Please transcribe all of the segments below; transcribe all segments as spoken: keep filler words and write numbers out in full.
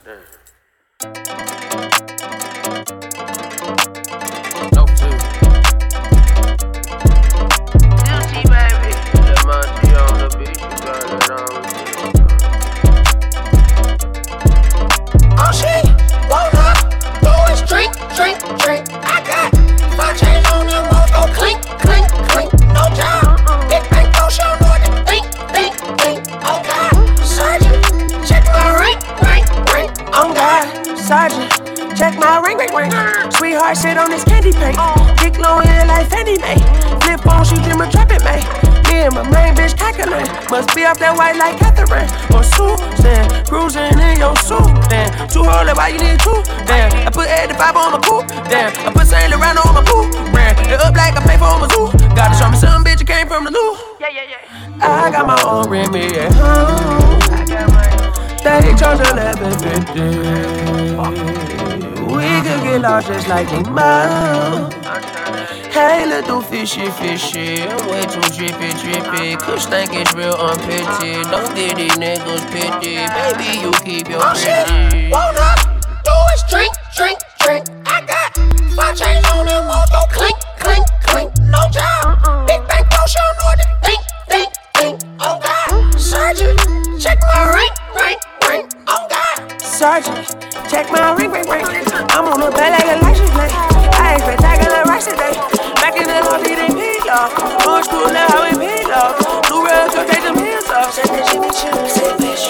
Sweetheart sit on this candy paint. Dick long hair like Fannie Mae. Flip phone, she dream of trapping, man. Me and my main bitch calculate. Must be off that white like Catherine or Susan. Cruising in your suit. Damn, two rollin', why you need two? Damn, I put eighty-five on my coupe. Damn, I put Saint Laurent on my boot. Ran it up like I pay for my zoo. Gotta show me some bitch, you came from the loo. Yeah, yeah, yeah. I got my own Remy at home. I got my they charge eleven fifty. We could get lost just like they mild. Hey, little fishy, fishy. I'm way too drippy, drippy. Kush think it's real unpitty. Don't get these niggas pity. Baby, you keep your pretty. Oh shit, won't up, do is drink, drink, drink. I got my chains on them, won't go clink, clink, clink. No job, big bank potion, know what to think, think, think. Oh God, Sergeant, check my ring, ring, ring. Oh God, Sergeant, check my ring, ring, ring. I'm on the bed like a license plate. I expect I got a rice today. Back in the house eating pizza. Old school now how we peel off. New real to take them heels off. Say that she be chillin', say bitch.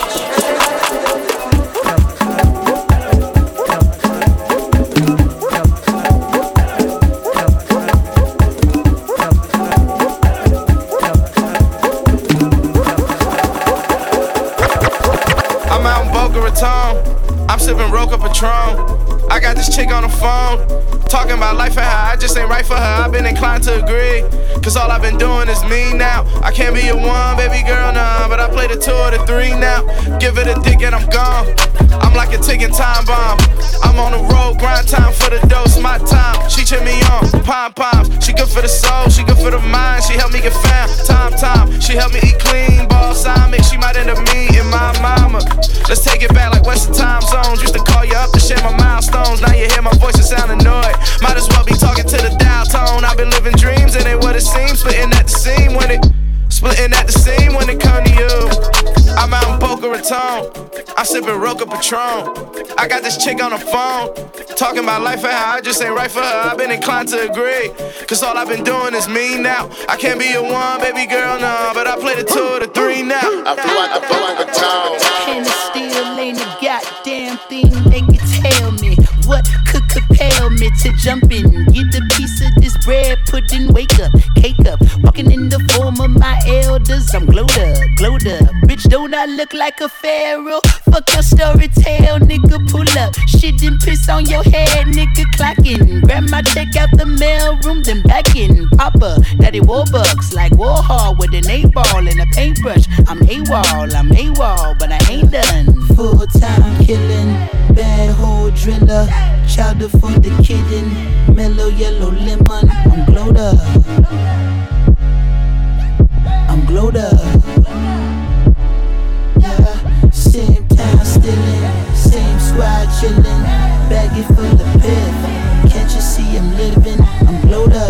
I'm out in Boca Raton. I'm sipping Roca Patron. I got this chick on the phone, talking about life and how I just ain't right for her. I've been inclined to agree, cause all I've been doing is me now. I can't be your one, baby girl, nah, but I play the two or the three now. Give it a dick and I'm gone. I'm like a ticking time bomb. I'm on the road, grind time for the dose, my time. She cheer me on, pom poms. She good for the soul, she good for the mind. She help me get found, time, time. She help me eat clean, balsamic. She might end up me and my mama. Let's take it back like Western time zones. Used to call you up to share my milestones. Now you hear my voice and sound annoyed. Might as well be talking to the dial tone. I've been living dreams and ain't what it seems. Splitting at the seam when it, splitting at the seam when it come to you. I'm out in Boca Raton. I'm sipping Roca Patron. I got this chick on the phone, talking about life and how I just ain't right for her. I've been inclined to agree, cause all I've been doing is me now. I can't be your one, baby girl, no, but I play the two or the three now. I flew out the Boca Raton. And it still ain't a goddamn thing they can tell me. What could compel me to jump in, get a piece of this bread pudding, wake up, cake up, walking in the form of my elders. I'm glowed up, glowed up. Bitch, don't I look like a pharaoh? Fuck your story tale, nigga, pull up. Shit and piss on your head, nigga, clocking. Grab my check out the mail room, then back in. Papa, daddy Warbucks, like Warhol with an eight ball and a paintbrush. I'm AWOL, I'm AWOL, but I ain't done. Full time killing, bad hole driller. Chowder for the kitten, mellow yellow lemon. I'm glowed up, I'm glowed up. Yeah, same time stillin', same squad chillin', baggy full of piff. Can't you see I'm living? I'm glowed up,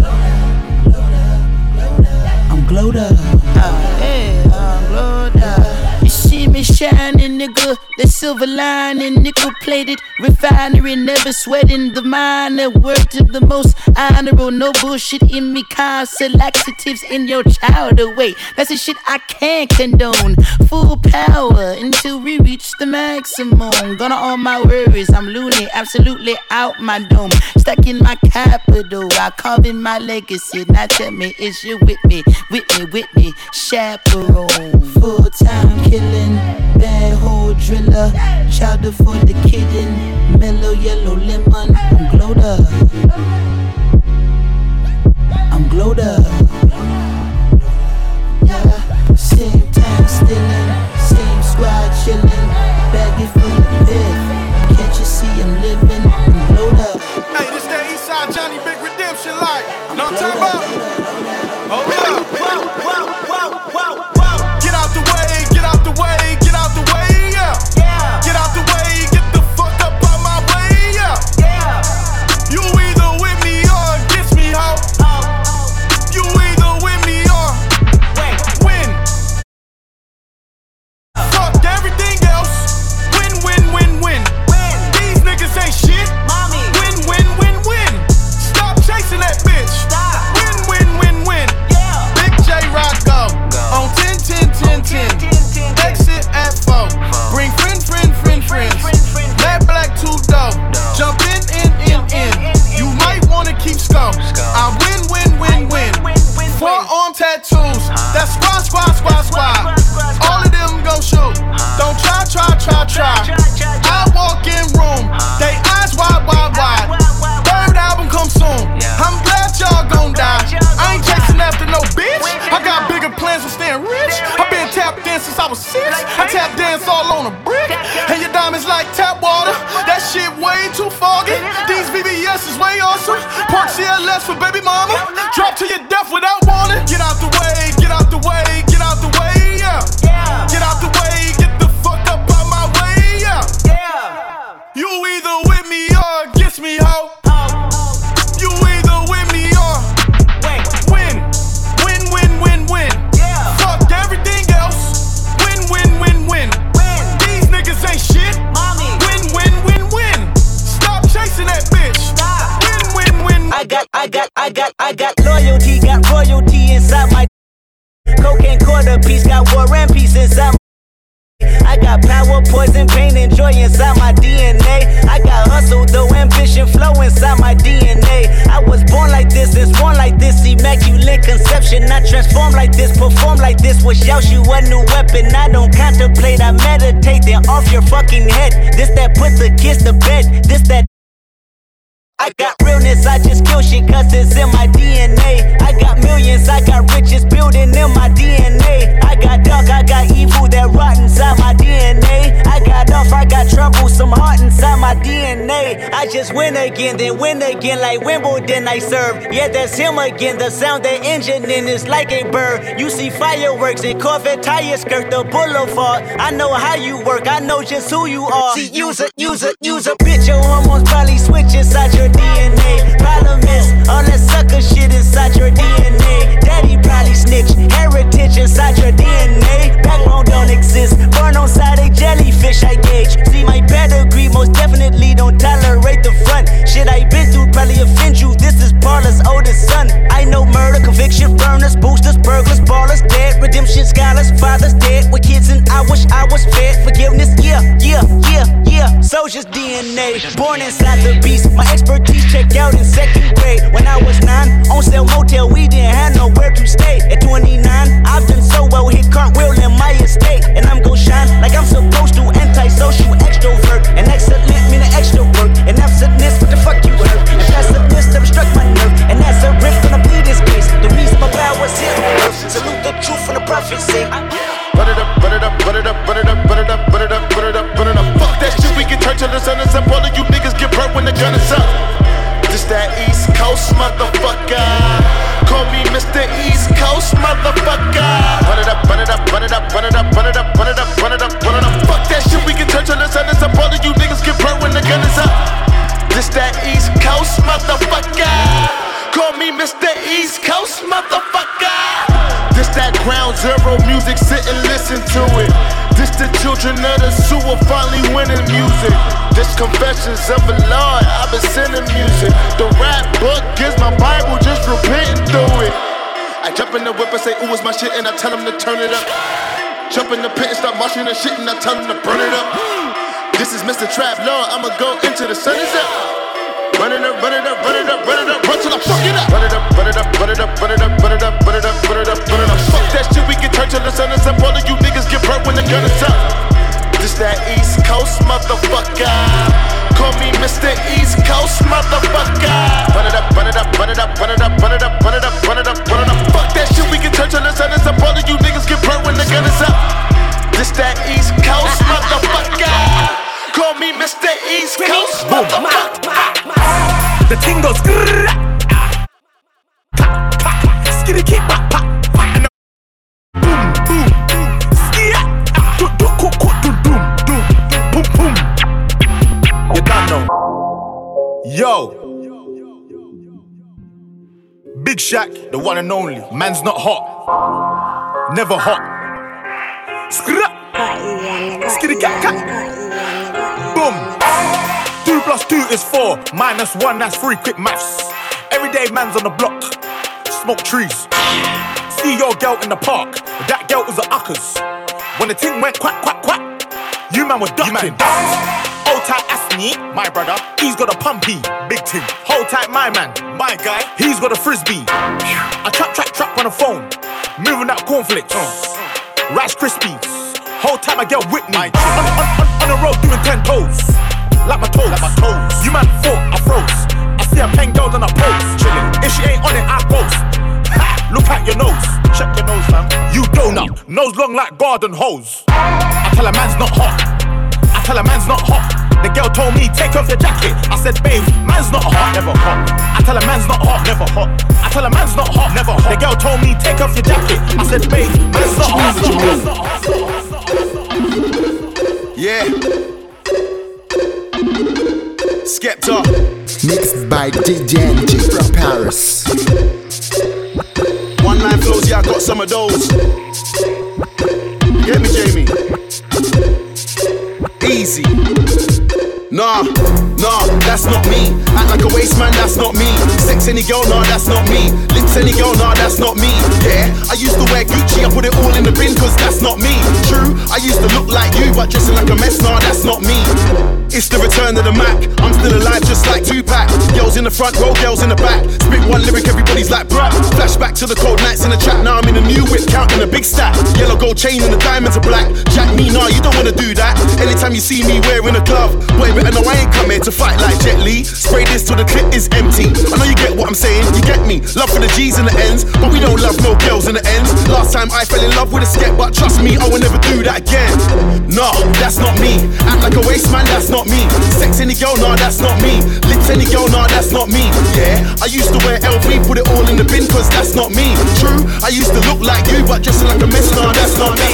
I'm glowed up. Oh, hey, I'm glowed up. You see me shining, nigga. The silver lining, nickel plated refinery, never sweating the minor. Word to the most honorable, no bullshit in me. Constant laxatives in your child away. That's the shit I can't condone. Full power until we reach the maximum. Gonna all my worries, I'm loony, absolutely out my dome. Stuck in my capital, I carve in my legacy. Now tell me, is you with me, with me, with me, chaperone? Full time killing, bad hole driller. Chowder for the kitten, mellow yellow lemon. I'm glowed up, I'm glowed up. Yeah, same time stillin', same squad chillin', baggy full of piff. Can't you see I'm living? I'm glowed up. Hey, this that Eastside Johnny Big Redemption like. Know what I'm talking about? Oh yeah. Wow, wow, wow, wow, wow. Get out the way, get out the way, get out the way, yeah. Get out the way, get try, try. I walk in room, they eyes wide, wide, wide. Third album come soon. I'm glad y'all gon' die. I ain't chasing after no bitch. I got bigger plans for staying rich. I been tapped in since I was six. I tap dance all on a brick. And your diamonds like tap water. That shit way too foggy. These V V S is way awesome. Park C L S for baby mama. Drop to your death without warning. Get out the way, get out the way, get out the way, yeah. Get out the way, get the fuck up out my way, yeah. You either with me or against me, ho. You either with me or win. Win, win, win, win. Fuck everything else. Win, win, win, win. These niggas ain't shit. Win, win, win, win. Stop chasing that bitch. Win, win, win. I got, I got, I got, I got loyalty, got royalty inside my cocaine quarter piece, got war and peace inside my I got power, poison, pain, and joy inside my D N A. I got hustle, though, ambition, flow inside my D N A. I was born like this, it's born like this, immaculate conception. I transform like this, perform like this, wish out you a new weapon. I don't contemplate, I meditate, then off your fucking head. This that put the kids to bed, this that I got realness, I just kill shit cause it's in my D N A. I got millions, I got riches building in my D N A. I got dark, I got evil that rot inside my D N A. I got off, I got trouble, some heart inside my D N A. I just win again, then win again like Wimbledon I serve. Yeah, that's him again, the sound that engine in is like a bird. You see fireworks and Corvette tires skirt the boulevard. I know how you work, I know just who you are. See, use a, use a, use a bitch, your hormones probably switch inside your D N A. Problem is, all that sucker shit inside your D N A. Daddy probably snitch, heritage inside your D N A. Backbone don't exist, born on side a jellyfish I gauge. See my pedigree, most definitely don't tolerate the front. Shit I been through probably offend you, this is Paula's oldest son. I know murder, conviction, burners, boosters, burglars, ballers, dead. Redemption, scholars, fathers dead. With kids and I wish I was fed. Forgiveness, yeah, yeah, yeah, yeah. Soldier's D N A, born inside the beast. My expertise checked out in second grade. When I was nine, on sale motel, we didn't have nowhere to stay. At twenty-nine, I've done so well, hit cartwheel in my estate. And I'm gon' shine like I'm supposed to. Antisocial extrovert, and excellent meaning extra work. And absentness, what the fuck you heard? And passiveness never struck my nerve. And that's a riff gonna be this case. The reason my power's here on earth. Salute the truth from the prophecy. Run it up, run it up, run it up, run it up, run it up, run it up, run it up, run it up. Fuck that shit, we can turn till the sun is up. All of you niggas get burnt when the gun is up. This that East Coast motherfucker. Call me Mister East Coast motherfucker. Run it up, run it up, run it up, run it up, run it up, run it up, run it up, run it up. Fuck that shit, we can turn till the sun is up. All of you niggas get burnt when the gun is up. This that East Coast motherfucker. Call me Mister East Coast motherfucker. This that ground zero music, sit and listen to it. This the children of the sewer finally winning music. This confessions of a Lord, I've been sending music. The rap book is my Bible, just repenting through it. I jump in the whip and say, ooh, it's my shit, and I tell them to turn it up. Jump in the pit and start marching and shit, and I tell them to burn it up. This is Mister Trap Lord, I'ma go into the sun is up. Run it up, run it up, run it up, run it up, run till I fuck it up. Run it up, run it up, run it up, run it up, run it up, run it up, run it up, run it up. Fuck that shit, we can turn till the sun is up. All of you niggas get burnt when the gun is up. This that East Coast motherfucker. Call me Mister East Coast motherfucker. Run it up, run it up, run it up, run it up, run it up, run it up, run it up, run it up. Fuck that shit, we can turn till the sun is up. All of you niggas get burnt when the gun is up. This that East Coast motherfucker. Call me Mister East Coast motherfucker. The thing goes grrrr, ah, pa, pa, skitty keep pa, pa, pa, and boom, boom, boom, skia, ah, do, do, do, do, do, do, boom, boom. You don't know. Yo, Big Shaq, the one and only. Man's not hot, never hot. Skra, skitty cat cat, boom. Two plus two is four, minus one, that's three, quick maths. Everyday man's on the block, smoke trees. See your girl in the park, that girl was a uckers. When the thing went quack, quack, quack, you man were ducking. Hold tight Asney, my brother, he's got a pumpy, big thing. Hold tight my man, my guy, he's got a frisbee. I trap, trap, trap on the phone, moving out cornflakes, uh, Rice Krispies. Hold tight my girl Whitney, on, on, on, on ten toes, like my toes, like my toes. You man thought I froze. I see a pen girl and I pose. Chillin'. If she ain't on it, I ghost. Ha! Look at your nose. Check your nose, fam. You donut, nose long like garden hose. I tell a man's not hot. I tell a man's not hot. The girl told me, take off your jacket. I said, babe, man's not hot, never hot. I tell a man's not hot, never hot. I tell a man's not hot, never hot. The girl told me, take off your jacket. I said, babe, man's not hot, man's not hot. Yeah. Skepta. Mixed by D J N G from Paris. One line flows, yeah, I got some of those. Get me, Jamie. Easy. Nah, nah, that's not me. Act like a waste man, that's not me. Sex any girl, nah, that's not me. Lips any girl, nah, that's not me. Yeah, I used to wear Gucci, I put it all in the bin, cause that's not me. True, I used to look like you, but dressing like a mess, nah, that's not me. It's the return of the Mac. I'm still alive just like Tupac. Girls in the front row, girls in the back. Spit one lyric, everybody's like bruh. Flashback to the cold nights in the trap. Now I'm in a new whip, counting a big stack. Yellow gold chain and the diamonds are black. Jack me, nah, you don't wanna do that. Anytime you see me wearing a glove, boy, better know I ain't come here to fight like Jet Li. Spray this till the clip is empty. I know you get what I'm saying, you get me. Love for the G's and the N's, but we don't love no girls in the ends. Last time I fell in love with a skep, but trust me, I will never do that again. Nah, that's not me. Act like a waste man, that's not me. Sex any girl, nah, that's not me. Lips any girl, nah, that's not me. Yeah, I used to wear L V, put it all in the bin, cause that's not me. True, I used to look like you, but dressing like a mess, nah, that's not me.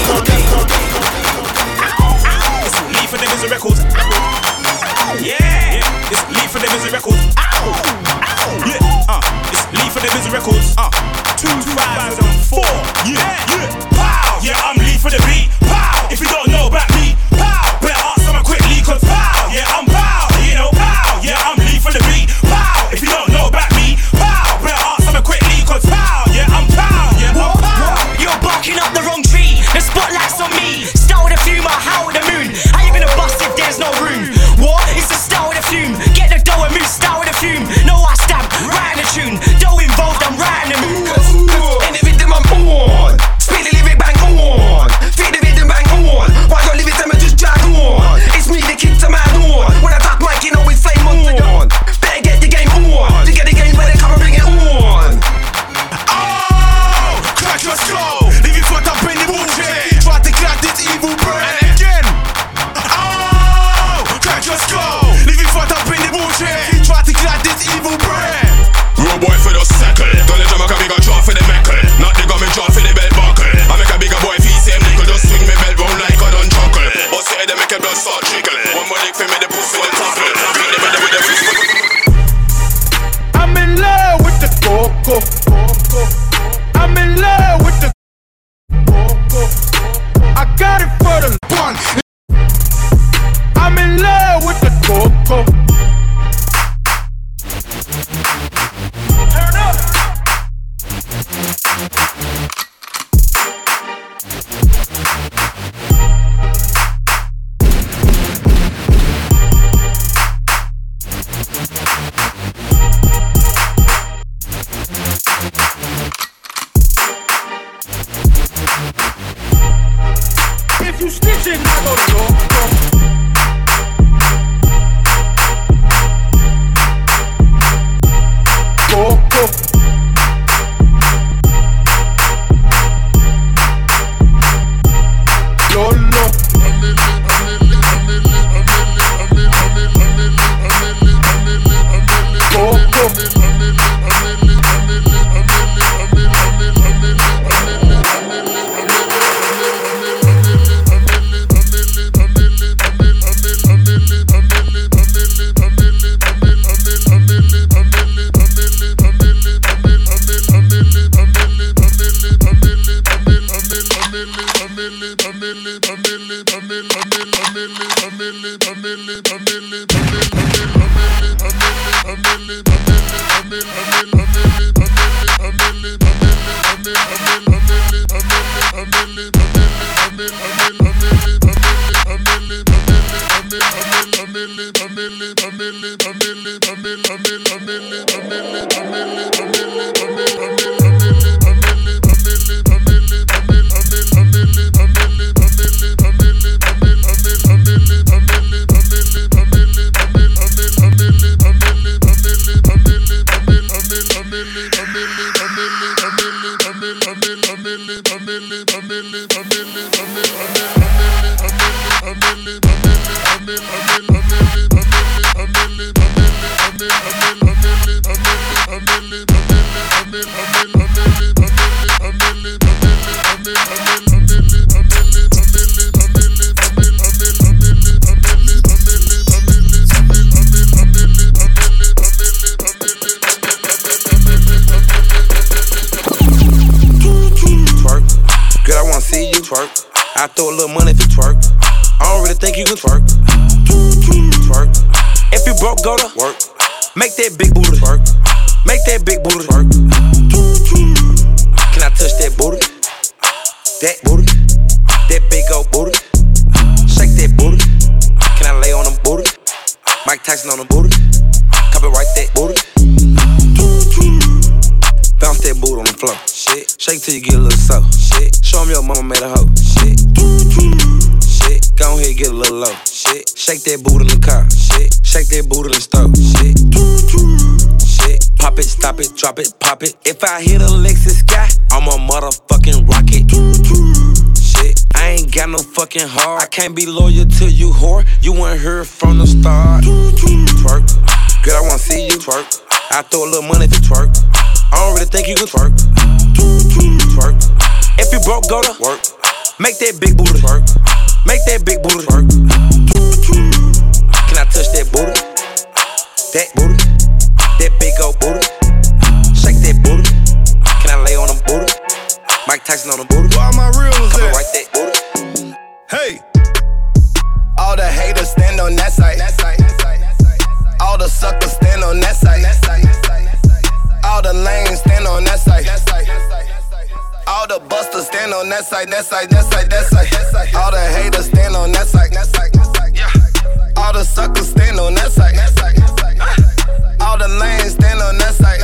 It's Lee for the Busy Records. Yeah, it's Lee for the Busy Records. Yeah, uh, it's Lee for the Busy Records. Uh, two thousand four. Yeah, yeah, pow. Yeah, I'm Lee for the beat. Pow. If you don't know about me, pow. Better ask someone quickly, cause pow. Yeah, I'm pow. You know, pow. Yeah, I'm Lee for the beat. Pow. If you don't know about me, pow. Better ask someone quickly, cause pow. Yeah, I'm pow. Yeah, I'm pow. You're barking up the wrong tree. The spotlight's on me. Start with a fume, I'll howl with the moon. How you gonna bust if there's no room? What? It's the start with a fume. Get the dough and move, start with a fume. No, I stamp, right in the tune. Dough involved, I'm right in the mood. Cause, cause in the rhythm I'm on. Speed the lyric bang on. Feed the rhythm bang on. Why don't leave it them and just drag on? It's me, the kid to man on. When I talk mic, you know it's flame on. Better get the game on. To get the game, better come and bring it on. Oh, crack your skull. Leave your foot up in the bullshit. Try to grab this evil brain. And again. Oh, crack your skull. Leave your foot up in the bullshit. Try to grab this evil brain. Road boy for the circle. Don't let Jamaica bigger draw for the meckle. Not the government draw for the belt buckle. I make a bigger boy feel same nickel. Just swing me belt round like I done chuckle. But say they make a blood start trickle. One more lick for me the pussy the tackle. Beat them with the with the fist. I'm in love with the coco. I'm in love with the coco. I got it for the one. I'm in love with the coco. Turn up. If you snitching, I go to coco. I throw a little money if you twerk. I don't really think you can twerk. Twerk. If you broke, go to work. Make that big booty twerk. Make that big booty twerk. Can I touch that booty? That booty. That big old booty. Shake that booty. Can I lay on them booty? Mike Tyson on the booty. Copyright that booty. Bounce that booty on the floor. Shit. Shake till you get a little soft. Shit. Show 'em your mama made a hoe. Shit. Shit. Go ahead, get a little low. Shit. Shake that booty in the car. Shit. Shake that booty in the stove. Shit. Shit. Pop it, stop it, drop it, pop it. If I hit a Lexus sky, I'm a motherfucking rocket. Shit. I ain't got no fucking heart. I can't be loyal to you, whore. You weren't here from the start. Twerk. Girl, I wanna see you twerk. I throw a little money if you twerk. I don't really think you can twerk. Twerk. If you broke, go to work. Make that big booty twerk. Make that big booty twerk. Can I touch that booty? That booty. That big old booty. Shake that booty. Can I lay on them booty? Mike Tyson on the booty. Where all my reels at? Right that booty. Hey. All the haters stand on that side. All the suckers stand on that side. All the lanes stand on that side. All the busters stand on that side, that side, that side, that side. All the haters stand on that side. All the suckers stand on that side. All the lanes stand on that side.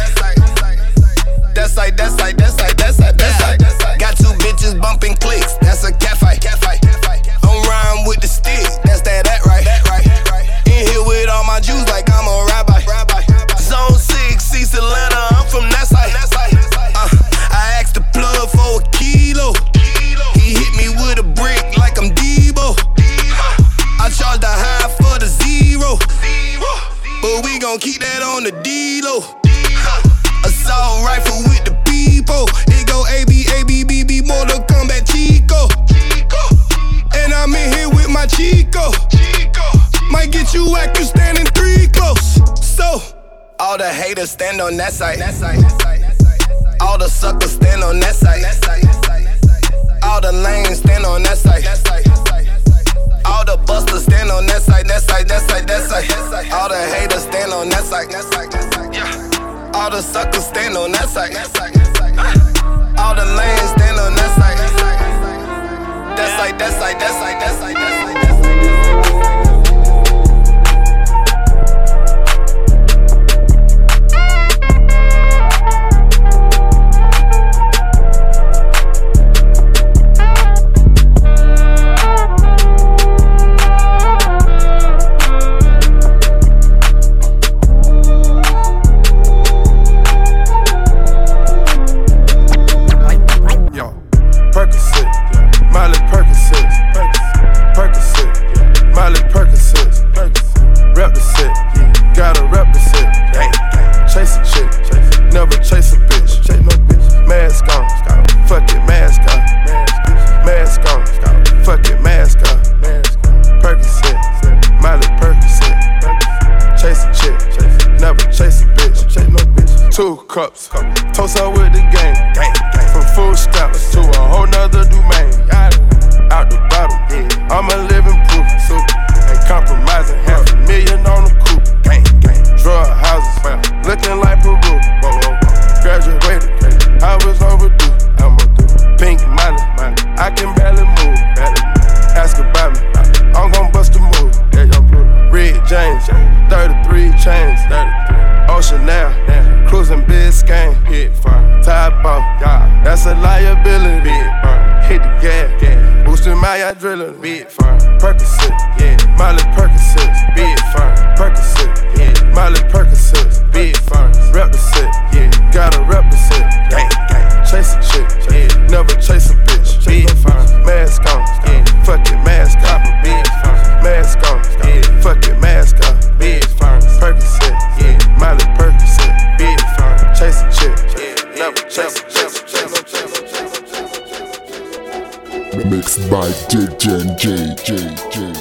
That side, that side, that side, that side, that side. Got two bitches bumping clicks, that's a cat fight. I'm riding with the stick, that's that, that right. In here with all my Jews like I'm a rabbi. Zone six, East Atlanta, I'm from that side. Uh, I asked the plug for a kilo. He hit me with a brick like I'm Debo. I charged the high for the zero, but we gon' keep that on the D-Lo. Assault rifle with the people. It go A B, A B, B B, Mortal Kombat Chico. And I'm in here with my Chico. Might get you whack, you standing three close. So, all the haters stand on that side. All the suckers stand on that side. All the lanes stand on that side. All the busters stand on that side, that side, that side, that side. All the haters stand on that side. All the suckers stand on that side. All the lanes stand on that side. That side, that side, that side, that side, that side, that side. Two cups, toast up with the game. From food stamps to a whole nother domain. Out the bottle, I'm a living proof. Ain't compromising, half a million on the coupe. Drug houses, looking like Peru. Graduated, I was overdue. Pink money, I can barely move. Ask about me, I'm gon' bust a move. Red James, thirty-three chains. Ocean now, cruising Biscayne, hit fire. Top off, that's a liability. Hit the gas, boosting my adrenaline. Big fire, Percocet, yeah. Miley Percocet, big fire. Percocet, yeah. Miley Percocet, big fire. Rep the set, yeah. Gotta rep the set, gang gang. Chase a chick, yeah. Never chase a bitch, big fire. Mask on, yeah. Fuck it, mask on, big fire. Mask on, yeah. D J J J J.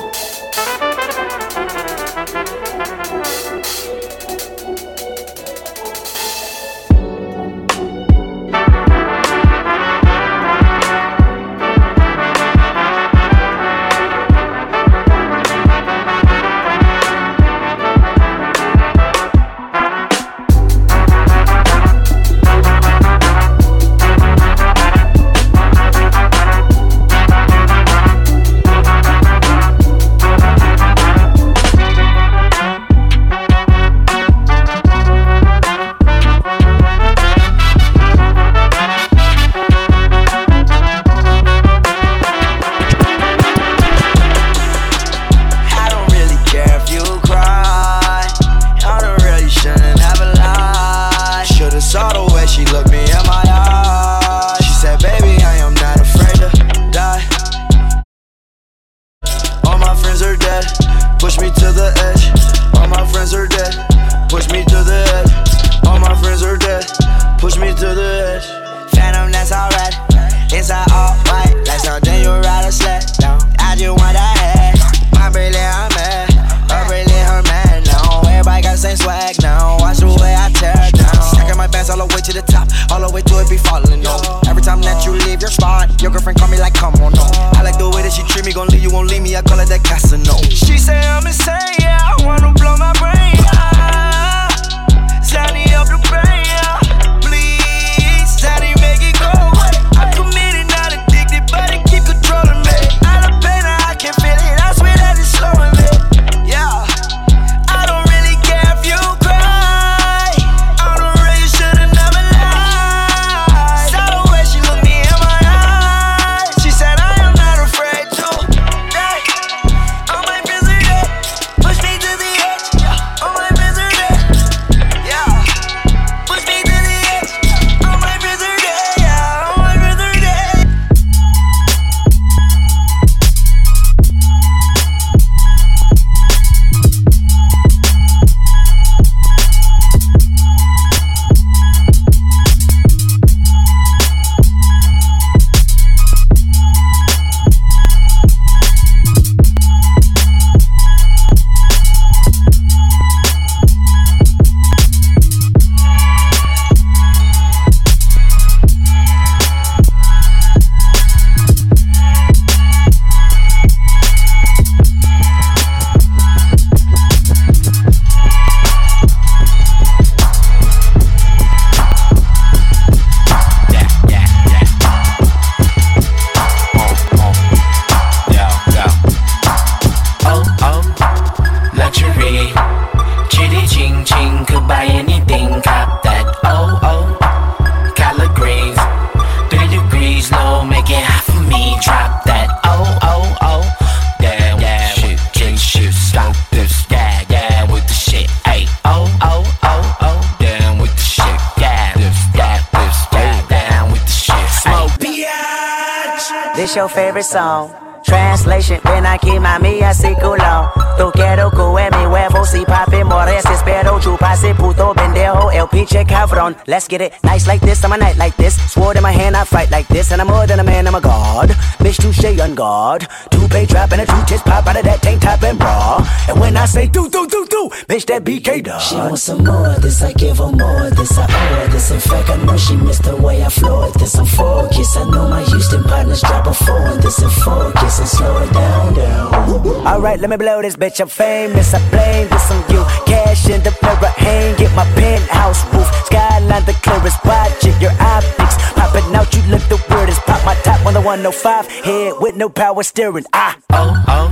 This your favorite song. Translation, ven aquí mami así culón. Tu quiero que mi huevo si papi mores. Espero chupase puto pendejo el pinche cabrón. Let's get it nice like this, I'm a night like this. Sword in my hand, I fight like this. And I'm more than a man, I'm a god. Bitch, touche on guard. Two-pay trap and a two-tits pop out of that tank top and bra. And when I say do, do, do, do, bitch, that B K dog. She wants some more of this, I give her more of this, I owe her this. In fact, I know she missed the way I floored this. I'm focused, I know my Houston partners drop a four on this and focus and slow it down, down. Alright, let me blow this bitch, I'm famous, I blame this on you. Cash in the mirror, hang, get my penthouse roof. Skyline the clearest, watch it, your optics popping out, you look the weirdest. Pop my top on the one oh five, head with no power steering. Ah, oh, oh,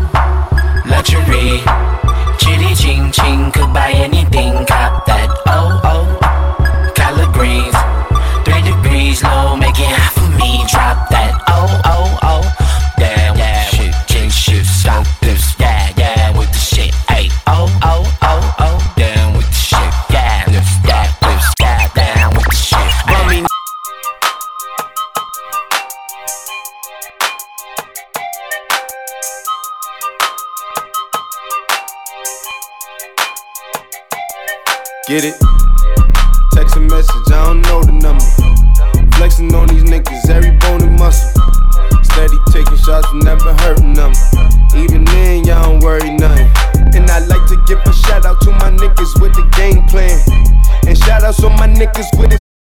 luxury. Chitty ching ching, could buy anything, cop that. Oh, oh, collard greens. Three degrees low, make it hot for me, drop that. Oh, oh, oh, damn, yeah, shit, king shit, stop this, yeah, yeah, with the shit, ayy. Oh, oh, oh, oh, damn, with the shit, yeah, this, that, this, yeah, down with the shit, ayy. Get it? Text a message, I don't know the number. Flexing on these niggas, every bone and muscle. steady taking shots and never hurting them. Even then, y'all don't worry nothing. And I like to give a shout out to my niggas with the game plan. And shout outs to my niggas with it.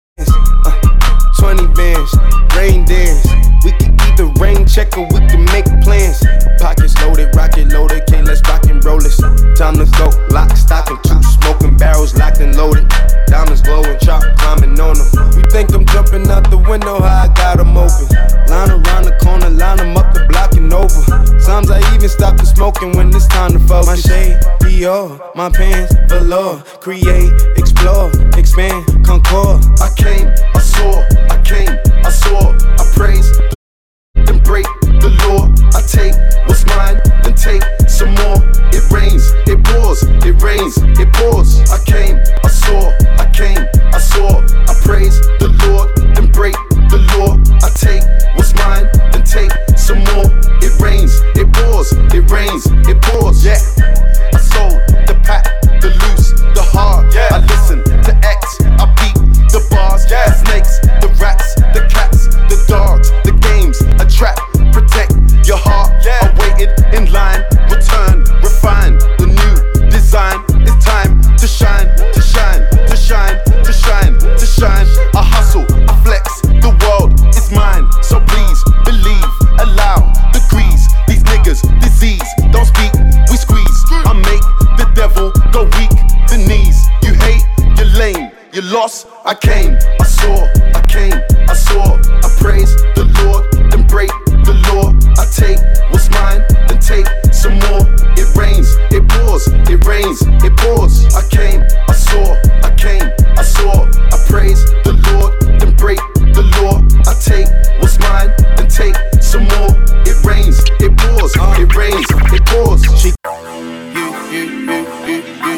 Uh, twenty bands, rain dance. We can either rain check or we can make plans. Pockets loaded, rocket loaded, can't let's rock and roll this. Time to go, lock, stock, and two smoking barrels locked and loaded. Diamonds glowing, chop climbing on them. You think I'm jumping out the window, how I got them open. Line around the corner, line them up the block and over. Sometimes I even stop the smoking when it's time to focus. My shade, Dior, my pants, velour. Create, explore, expand, concord. I came, I saw, I came, I saw, I praise, then break the law. I take what's mine, then take some more. It rains, it pours, it rains, it pours. I came, I saw, I came, I saw, I praise the Lord, then break the law. I take what's mine, then take some more. It rains, it pours, it rains, it pours. Yeah, I sold the pack, the loose, the hard. Yeah, I listen to X, I beat the bars. Yeah, the snakes, the rats, the cats, the dogs, the games, a trap, protect your heart. Yeah, I waited in line, return, refine the new design. It's time to shine, to shine, to shine, to shine, to shine. I hustle, I flex, the world is mine. So please believe, allow degrees. These niggas disease, don't speak, we squeeze. I make the devil go weak, the knees. You hate, you're lame, you lost. I came, I saw, I came, I saw. I praise the Lord, then break the law. I take what's mine, then take some more. It rains, it pours, it rains, it pours. I came, I saw, I came, I saw. I praise the Lord, then break the law. I take what's mine, then take some more. It rains, it pours, it rains, it pours. She you, you, you, you, you,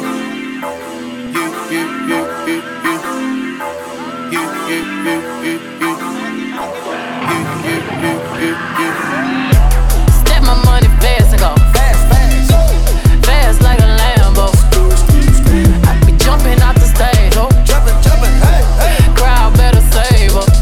you, you, you, you, you. You, you, you, you, you. You, you, you, you, you. Step my money fast and go fast, fast, fast like a Lambo. I be jumping out the stage, oh, jumping, jumping, hey, hey. Crowd better save up.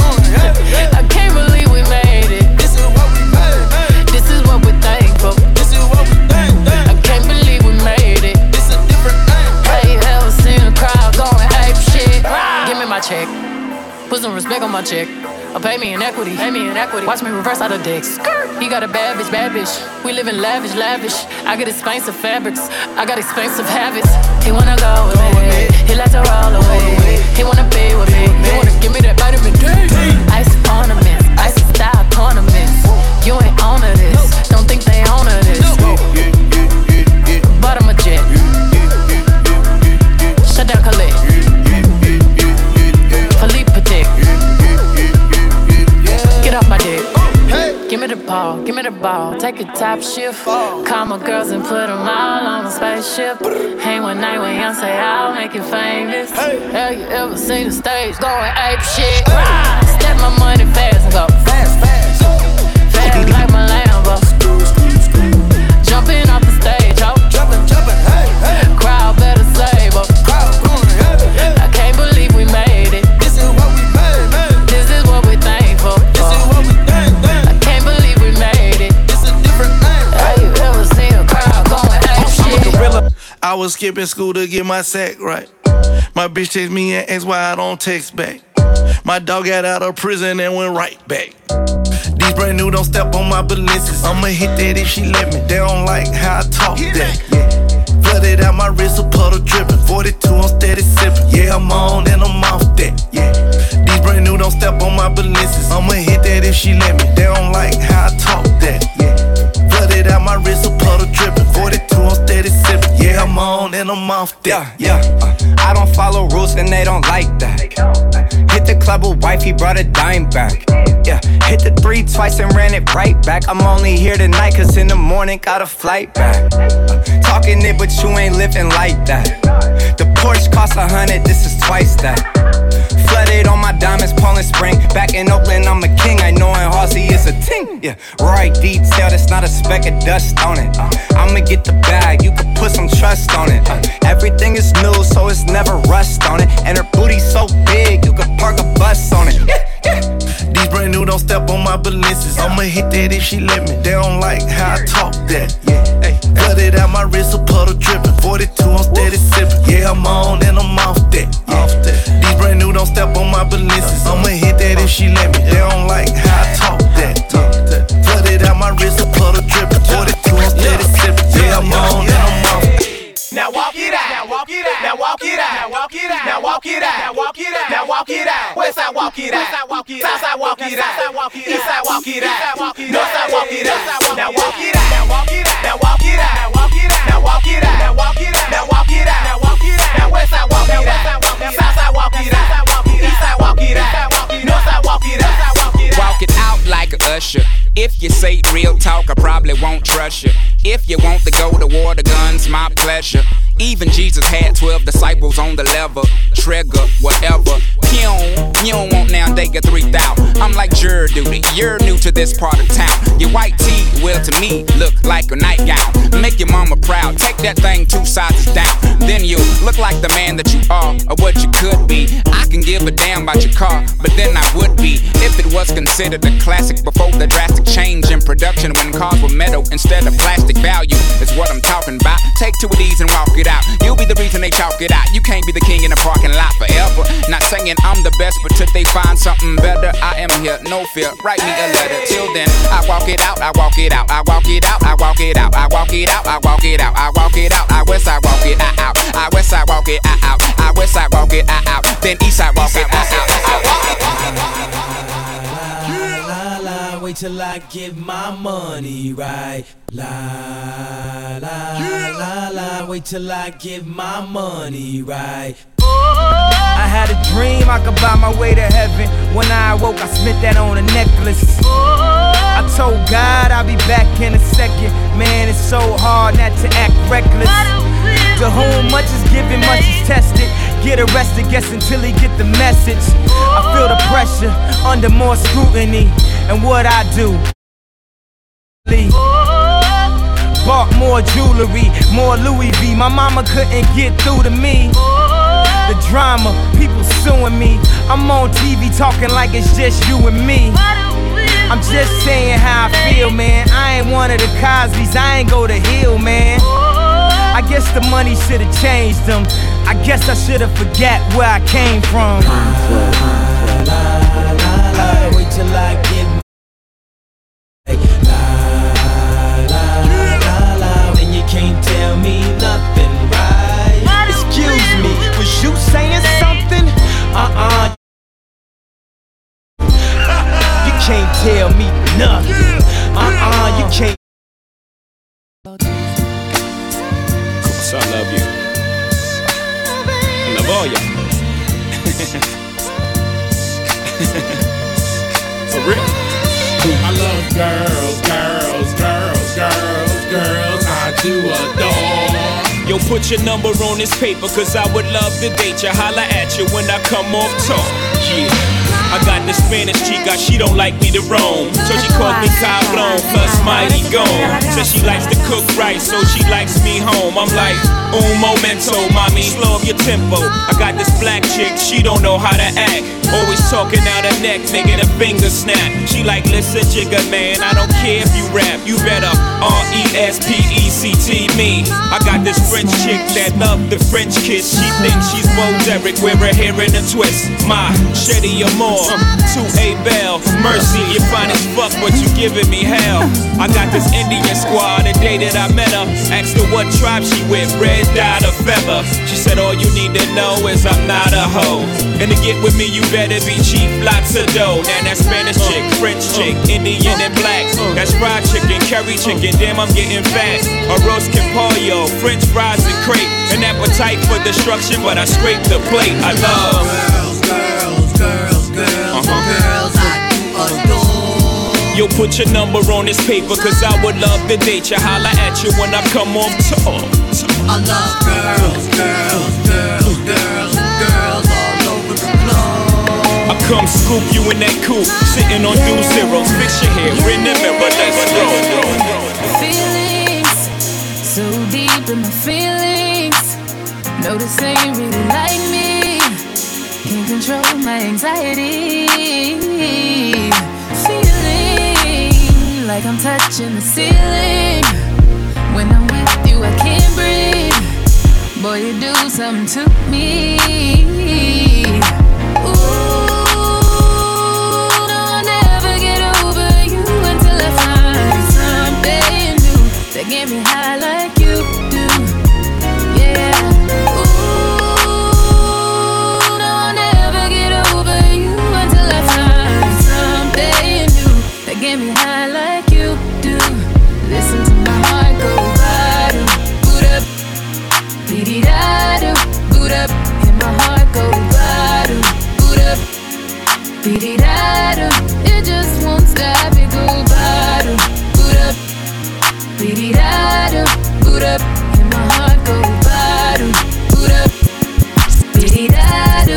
I can't believe we made it. This is what we made. This is what we thankful. This is what we think. I can't believe we made it. It's a different thing. Hey, ever seen a crowd going ape shit? Give me my check. Put some respect on my check. Or pay me in equity. Pay me in equity. Watch me reverse out of dicks. He got a bad bitch, bad bitch. We live in lavish, lavish. I got expensive fabrics. I got expensive habits. He wanna go with me. He like to roll away. He wanna be with me. He wanna give me that vitamin D. Ice ornaments. Ice style ornaments. You ain't on to this. Don't think they own to this. But I'm a jet. Shut down Khalid. Philippe Patek. Get off my dick. Give me the ball, give me the ball. Take a top shift. Call my girls and put them all on a spaceship. Hang one night with Young, say I'll make you famous. Have you ever seen the stage going ape shit? Step my money fast and go fast, fast, fast like my Lambo. Jumping off the stage, ho. Jumping, jumping, hey, hey. Crowd better save up. I can't believe we made it. This is what we made, man. This is what we thankful. This is what we think, man. I can't believe we made it. It's a different thing. Have you ever seen a crowd going ape shit? I was skipping school to get my sack right. My bitch text me and asked why I don't text back. My dog got out of prison and went right back. These brand new don't step on my balances. I'ma hit that if she let me. They don't like how I talk that. Yeah. Flooded out my wrist, a puddle dripping. forty-two, I'm steady sipping. Yeah, I'm on and I'm off that. Yeah. These brand new don't step on my balances. I'ma hit that if she let me. They don't like how I talk that. Yeah. Flooded out my wrist, a puddle dripping. forty-two, I'm steady sipping. Yeah, I'm on and I'm off that. Yeah, yeah. Uh, I don't follow rules and they don't like that. Hit the club with wife, he brought a dime back. Yeah, hit the three twice and ran it right back. I'm only here tonight cause in the morning got a flight back. Uh, talking it but you ain't living like that. The Porsche cost a hundred, this is twice that. Flooded on my diamonds, Poland Spring. Back in Oakland, I'm a king. I know in Halsey is a ting. Yeah, right detail, that's not a speck of dust on it. Uh, I'ma get the bag, you can put some trust on it. Uh, everything is new, so it's never rust on it. And her booty's so big, you can park a bus on it. Yeah, yeah. These brand new don't step on my balances. I'ma I'ma hit that if she let me. They don't like how I talk that. Yeah, hey, cut it out my wrist, a puddle dripping. forty-two, I'm steady sipping. Yeah, I'm on and I'm off that. Yeah. Off that. These brand new don't step on my balances. I'ma hit that if she let me. They don't like how I talk that. Yeah. Cut it out my wrist, a puddle dripping. forty-two, I'm steady sipping. Yeah, I'm on and I'm off that. Now walk it out. Now walk it out. Now walk it out. Now walk it out. Now walk it out. Now walk it out. Now walk it out. West side walk it out. South side walk it out. East side walk it out. North side walk it out. Now walk it out. Now walk it out. Now walk it out. Now walk it out. Now walk it out. Now walk it out. Now walk it out. Now walk it out. Now west side walk it out. South side walk it out. East side walk it out. North side walk it out. Walk it out like a usher. If you say real talk, I probably won't trust you. If you want to go to war, the gun's my pleasure. Even Jesus had twelve disciples on the lever. Trigger, whatever. You don't, you don't want now, they get three thousand. I'm like jury duty, you're new to this part of town. Your white tee, well to me, look like a nightgown. Make your mama proud, take that thing two sizes down. Then you look like the man that you are, or what you could be. I can give a damn about your car, but then I would be if it was considered a classic before the drastic change in production when cars were metal instead of plastic. Value is what I'm talking about. Take two of these and walk it out. You'll be the reason they chalk it out. You can't be the king in the parking lot forever. Not saying I'm the best, but till they find something better, I am here, no fear. Write me a letter. Till then, I walk it out, I walk it out, I walk it out, I walk it out, I walk it out, I walk it out, I walk it out, I west side walk it out, I west side walk it out, I west side walk it out, then east side walk it out, I walk it out. Wait till I get my money right. La la yeah. la la. Wait till I get my money right. I had a dream I could buy my way to heaven. When I awoke, I spent that on a necklace. I told God I'll be back in a second. Man, it's so hard not to act reckless. To whom much is given, much is tested. Get arrested, guess until he get the message. I feel the pressure under more scrutiny. And what I do, bought more jewelry, more Louis V. My mama couldn't get through to me. The drama, people suing me. I'm on T V talking like it's just you and me. I'm just saying how I feel, man. I ain't one of the Cosbys, I ain't go to Hill, man. I guess the money should've changed them. I guess I should've forgot where I came from. Wait till I get la la la la. Then you can't tell me nothing, right? Excuse me, was you saying something? Uh-uh. You can't tell me nothing. Uh-uh, you can't. So I love you. I love all y'all. For real. I love girls, girls, girls, girls, girls. I do adore. Yo, put your number on this paper, cause I would love to date you. Holla at you when I come off tour. Yeah. I got this Spanish chica, she don't like me to roam. So she calls me Cablon, plus mighty gone. Says she likes to cook right, so she likes me home. I'm like, un momento, mommy, slow up your tempo. I got this black chick, she don't know how to act. Always talking out her neck, making a finger snap. She like, listen, jigga man, I don't care if you rap. You better R E S P E C T me. I got this French chick that love the French kiss. She thinks she's Bo Derek, wear her hair in a twist. My Shetty Amore. To A Bell, Mercy, you fine as fuck, but you giving me hell. I got this Indian squad, the day that I met her. Asked her what tribe she with, red dot or feather. She said all you need to know is I'm not a hoe. And to get with me, you better be cheap, lots of dough. Now that Spanish chick, French chick, Indian and black. That's fried chicken, curry chicken, damn I'm getting fat. Arroz con pollo, French fries and crepe. An appetite for destruction, but I scrape the plate. I love girls, girls, girls. Girls, uh-huh. girls I do adore. Yo, put your number on this paper, cause I would love to date you. Holla at you when I come off tour. I love girls, girls, girls, girls, girls all over the globe. I come scoop you in that coupe, sitting on two zeros. Fix your hair in the mirror, let's go. Feelings, so deep in my feelings. Notice they ain't really like me. Can't control my anxiety. Feelings like I'm touching the ceiling. When I'm with you, I can't breathe. Boy, you do something to me. Ooh, no, I'll never get over you until I find something new that get me high like you do. Yeah. Ooh, no, I'll never get over you until I find something new that get me high like you do. Listen to my heart go bottom, boot up, beat-it-da-do, boot up, and my heart go bottom, boot up, beat-it-da-do. It just won't stop, it go bottom, boot up, beat-it-da-do, boot up, and my heart go bottom, boot up, beat-it-da-do.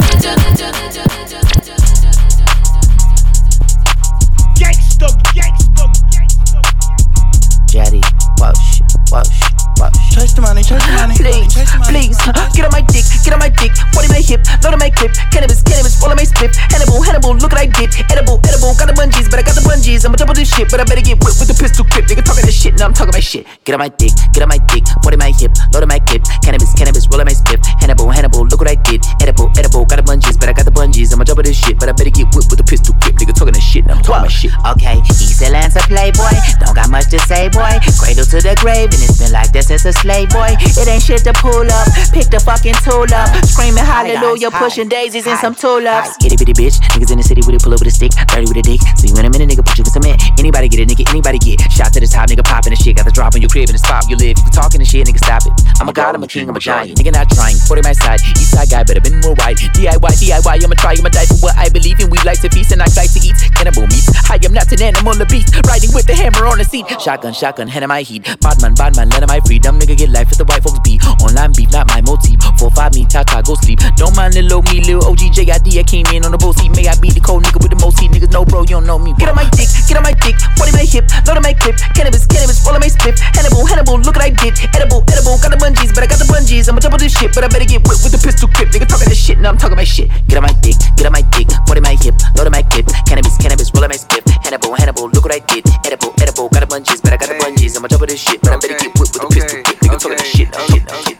Gangsta, gangsta, gangsta. Jetty, Walsh, Walsh, Walsh. Chase the money, chase the money. Please, please, get on my dick, get on my dick. forty my hip, load on my clip. Cannabis, cannabis, roll on my split. Hannibal, Hannibal, look what I did. Edible, edible, got the bungees, but I got the bungees. I'ma double this shit, but I better get whipped with the pistol grip. Nigga talking that shit, now I'm talking my shit. Get on my dick, get on my dick. forty my hip, load on my clip. Cannabis, cannabis, roll on my split. Hannibal, Hannibal, look what I did. Edible, edible, got the bungees, but I got the bungees. I'ma double this shit, but I better get whipped with the pistol grip. Nigga talking that shit, now I'm talking my shit. Okay, East Atlanta playboy, don't got much to say, boy. Cradle to the grave, and it's been like this since a slave boy. It ain't shit to pull up, pick the fucking tool up, screaming hallelujah, pushing daisies and some tulips. Itty bitty bitch, niggas in the city with it, pull up with a stick, dirty with a dick. See you in a minute, nigga, put you in cement. Anybody get it, nigga, anybody get shot to the top, nigga, popping the shit. Got the drop on your crib in the spot you live. You talking the shit, nigga, stop it. I'm a god, I'm a king, I'm a giant. Nigga, not trying. forty my side, east side guy, better been more white. D I Y, D I Y, I'ma try, I'ma die for what I believe in. We like to feast and I like to eat cannibal meat. I am not an animal, a beast, riding with the hammer on the seat. Shotgun, shotgun, hand in my heat. Badman, badman, let my freedom, nigga, get life with the white folks beat. Online beef, not my motif. Four, five, me, Tata, go sleep. Don't mind little me, little O G J I D. I came in on the boat seat. May I be the cold nigga with the most heat. Niggas know, bro, you don't know me. Get on my dick, get on my dick. forty my hip, load on my clip. Cannabis, cannabis, roll on my split. Hannibal, Hannibal, look what I did. Edible, edible, got the bungees, but I got the bungees. I'ma double this shit, but I better get whipped with the pistol grip. Nigga talking this shit, now I'm talking my shit. Get on my dick, get on my dick. forty my hip, load on my clip. Cannabis, cannabis, roll on my split. Hannibal, Hannibal, look what I did. Edible, edible, got the bungees, but I got the bungees. I'ma double this shit, but I better get whipped with the pistol grip. Nigga talking this shit, now I'm talking my shit.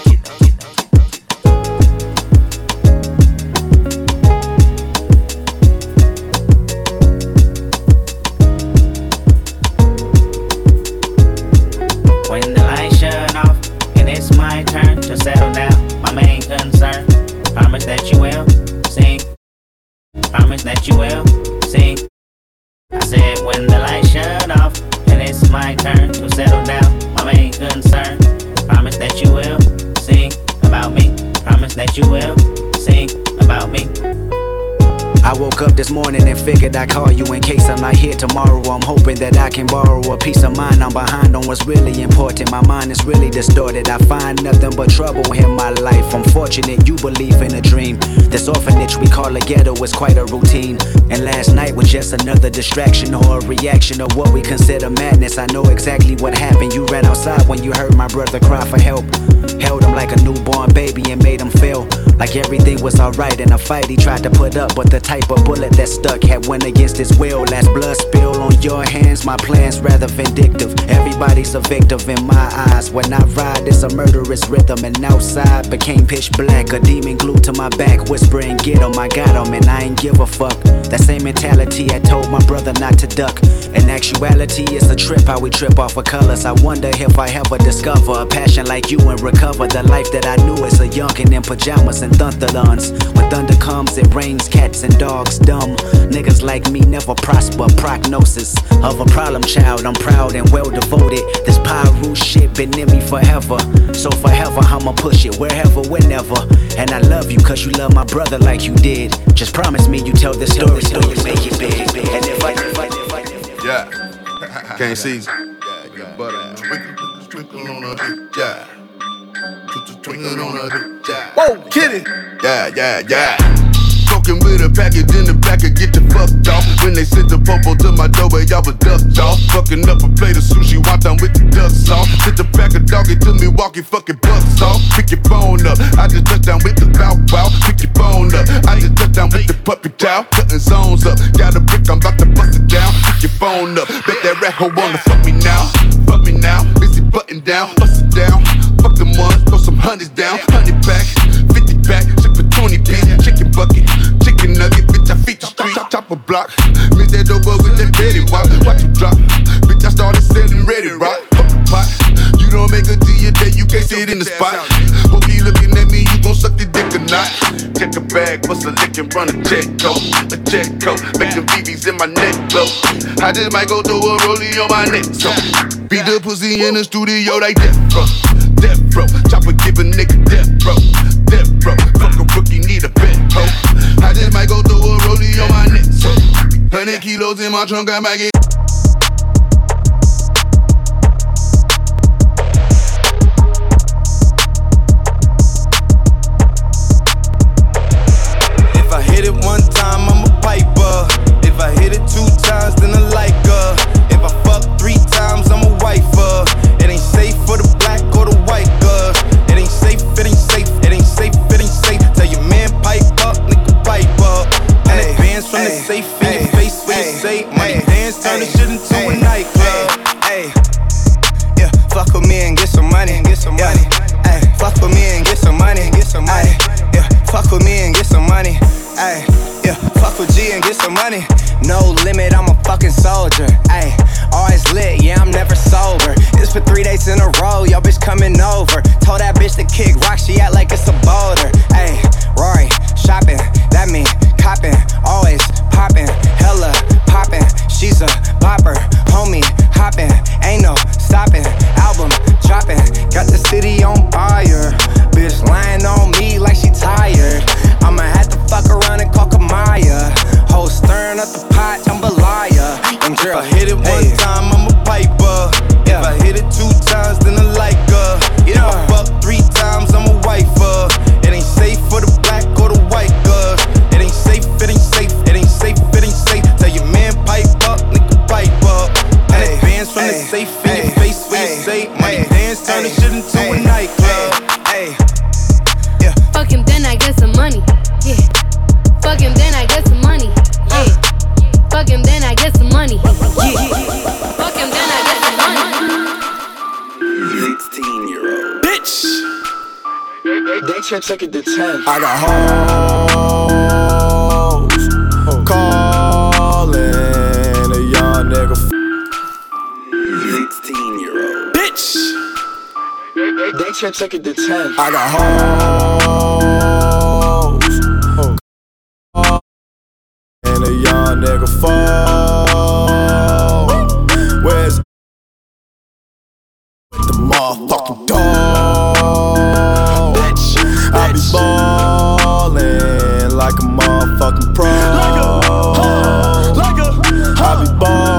When the lights shut off and it's my turn to settle down, my main concern, promise that you will sing, promise that you will sing. I said when the lights shut off and it's my turn to settle down, my main concern, promise that you will sing about me, promise that you will sing about me. I woke up this morning and figured I'd call you in case I'm not here tomorrow. I'm hoping that I can borrow a peace of mind. I'm behind on what's really important. My mind is really distorted. I find nothing but trouble in my life. I'm fortunate you believe in a dream. This orphanage we call a ghetto is quite a routine. And last night was just another distraction or a reaction of what we consider madness. I know exactly what happened. You ran outside when you heard my brother cry for help. Held him like a newborn baby and made him feel like everything was alright in a fight he tried to put up, but the type of bullet that stuck had went against his will. Last blood spill on your hands, my plan's rather vindictive. Everybody's a victim in my eyes. When I ride, it's a murderous rhythm, and outside became pitch black. A demon glued to my back, whispering, get him, I got him, and I ain't give a fuck. That same mentality I told my brother not to duck. In actuality, it's a trip how we trip off of colors. I wonder if I ever discover a passion like you and recover the life that I knew as a youngin' in pajamas and thunderlons. When thunder comes, it rains cats and dogs dumb. Niggas like me never prosper. Prognosis of a problem child. I'm proud and well devoted. This Pyru shit been in me forever. So forever I'ma push it wherever, whenever. And I love you cause you love my brother like you did. Just promise me you tell this story so you make it big. And if I, if I, if I, yeah, can't see. Butter, twinkle on a dick, yeah. Twinkle on a dick, yeah. Whoa, kitty. Yeah, yeah, yeah. walking with a package in the back and get the fucked off. When they sent the popo to my door, where y'all was ducked off. Fucking up a plate of sushi, wonton with the duck sauce. Sent the pack of doggy to me, walking fucking bucks off. Pick your phone up, I just touched down with the bow bow. Pick your phone up, I just touched down with the puppy chow. Cutting zones up, got a brick, I'm about to bust it down. Pick your phone up, bet that rat hoe wanna fuck me now. Fuck me now, busy button down, bust it down. Fuck them ones, throw some hundreds down. Hundred back, fifty back, ship for twenty piece. Chicken bucket, chicken nugget, bitch, I feed the street. Chop, chop a block, miss that dope with that Betty Watch. Watch you drop, bitch, I started selling ready rock. Fuck the pot, you don't make it to your day, you can't sit in the spot. Hope he looking at me, you gon' suck the dick or not. Check a bag, bust a lick and run a check code. A check code, make them B Bs in my neck glow. I just might go throw a rollie on my neck, so beat the pussy in the studio like death bro, death bro. Chopper give a nigga death bro, death bro. Fuck a rookie, need a bet ho. I just might go throw a rollie on my neck, so hundred kilos in my trunk, I might get. If I hit it one time, I'm a piper. If I hit it two times, then I like her. If I fuck three times, I'm a wifer. It ain't safe for the black or the white girl. It ain't safe, it ain't safe, it ain't safe, it ain't safe. Tell your man pipe up, nigga pipe up. And it bands from the safe in your face when you say money dance, turn the shit into a nightclub. Hey, yeah, fuck with me and get some money, get some money. Hey, fuck with me and get some money, get some money. Yeah, fuck with me and get some money. Ay, yeah, fuck with G and get some money. No limit, I'm a fucking soldier. Ay, always lit, yeah, I'm never sober. It's for three days in a row, yo bitch coming over. Told that bitch to kick rock, she act like it's a boulder. Ay, Rory, shopping, that mean copping. Always popping, hella popping. She's a bopper, homie, hopping. Ain't no stopping, album dropping. Got the city on fire. Bitch lying on me like she tired. I'ma have to fuck around and call Kamaya. Whole stirring up the pot, jambalaya. And girl, if I hit it one hey. time, I'm a piper. Yeah. If I hit it two times, then I like her. Yeah. If I fuck three times, I'm a wifer. It ain't safe for the black or the white girl. It ain't safe, it ain't safe, it ain't safe, it ain't safe. Tell your man pipe up, nigga pipe up. And hey. It bands from hey. the safe in hey. your face when hey. you say money hey. dance, turn hey. the shit into hey. a nightclub. Hey. Yeah. Fuck him, then I get some money. Yeah. Fuck him, then I get some money. Yeah. Fuck him, then I get some money. Yeah. Fuck him, then I get some money. sixteen year old bitch. They check check it to ten. I got hoes calling a young nigga. sixteen year old bitch. They check check it to ten. I got hoes and a young nigga fall. Where's the motherfucking dog? Bitch, I be ballin' like a motherfucking pro. Like a, like a, I be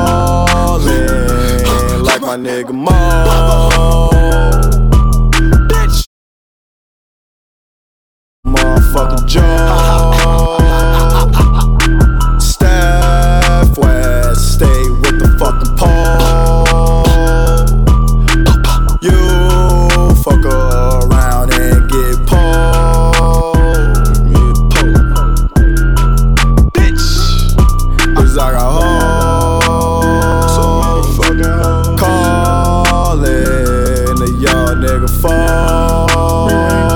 ballin' like my nigga Mo. Bitch, motherfucking Joe. Steph West, stay with the fucking pole. You fuck around and get pulled. Get pulled. Bitch, cause I got hoes. So motherfucking hoes. Callin' a young nigga phone.